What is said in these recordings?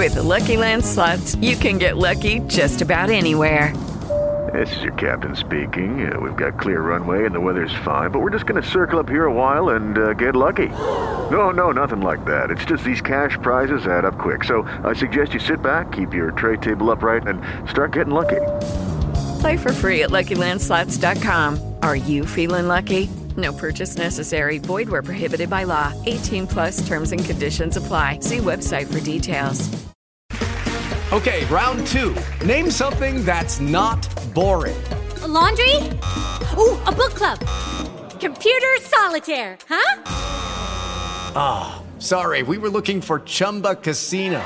With the Lucky Land Slots, you can get lucky just about anywhere. This is your captain speaking. We've got clear runway and the weather's fine, but we're just going to circle up here a while and get lucky. No, nothing like that. It's just these cash prizes add up quick. So I suggest you sit back, keep your tray table upright, and start getting lucky. Play for free at LuckyLandSlots.com. Are you feeling lucky? No purchase necessary. Void where prohibited by law. 18 plus terms and conditions apply. See website for details. Okay, round two. Name something that's not boring. A laundry? Ooh, a book club. Computer solitaire, huh? Sorry, we were looking for Chumba Casino.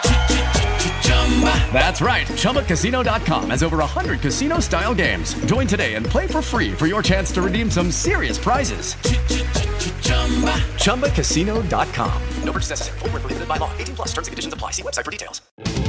That's right. ChumbaCasino.com has over 100 casino-style games. Join today and play for free for your chance to redeem some serious prizes. ChumbaCasino.com. No purchase necessary. Void where prohibited by law. 18 plus. Terms and conditions apply. See website for details.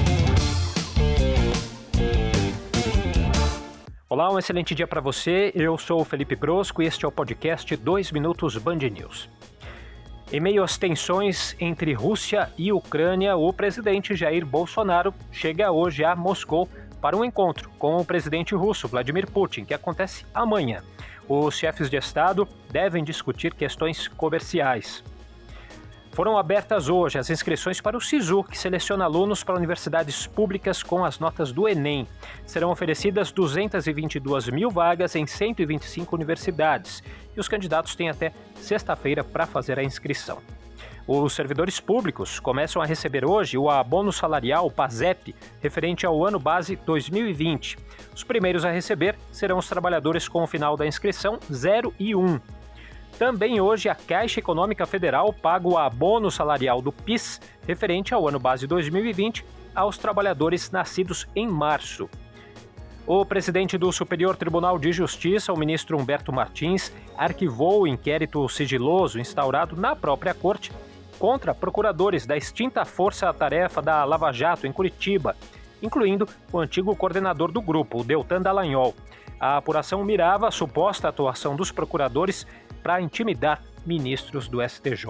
Olá, um excelente dia para você. Eu sou o Felipe Brosco e este é o podcast 2 Minutos Band News. Em meio às tensões entre Rússia e Ucrânia, o presidente Jair Bolsonaro chega hoje a Moscou para um encontro com o presidente russo Vladimir Putin, que acontece amanhã. Os chefes de Estado devem discutir questões comerciais. Foram abertas hoje as inscrições para o SISU, que seleciona alunos para universidades públicas com as notas do Enem. Serão oferecidas 222 mil vagas em 125 universidades e os candidatos têm até sexta-feira para fazer a inscrição. Os servidores públicos começam a receber hoje o abono salarial PASEP, referente ao ano base 2020. Os primeiros a receber serão os trabalhadores com o final da inscrição 0 e 1. Também hoje a Caixa Econômica Federal paga o abono salarial do PIS, referente ao ano base 2020, aos trabalhadores nascidos em março. O presidente do Superior Tribunal de Justiça, o ministro Humberto Martins, arquivou o inquérito sigiloso instaurado na própria corte contra procuradores da extinta Força-Tarefa da Lava Jato em Curitiba, incluindo o antigo coordenador do grupo, o Deltan Dallagnol. A apuração mirava a suposta atuação dos procuradores para intimidar ministros do STJ.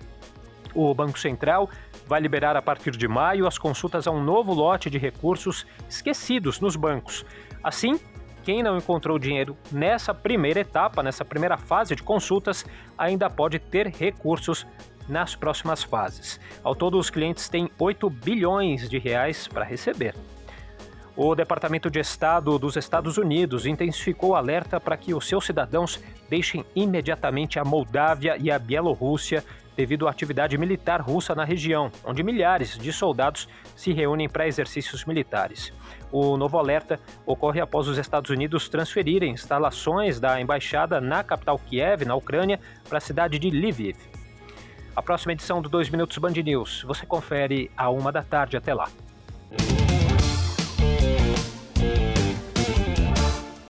O Banco Central vai liberar a partir de maio as consultas a um novo lote de recursos esquecidos nos bancos. Assim, quem não encontrou dinheiro nessa primeira etapa, nessa primeira fase de consultas, ainda pode ter recursos nas próximas fases. Ao todo, os clientes têm 8 bilhões de reais para receber. O Departamento de Estado dos Estados Unidos intensificou o alerta para que os seus cidadãos deixem imediatamente a Moldávia e a Bielorrússia devido à atividade militar russa na região, onde milhares de soldados se reúnem para exercícios militares. O novo alerta ocorre após os Estados Unidos transferirem instalações da embaixada na capital Kiev, na Ucrânia, para a cidade de Lviv. A próxima edição do 2 Minutos Band News você confere à 1 da tarde. Até lá.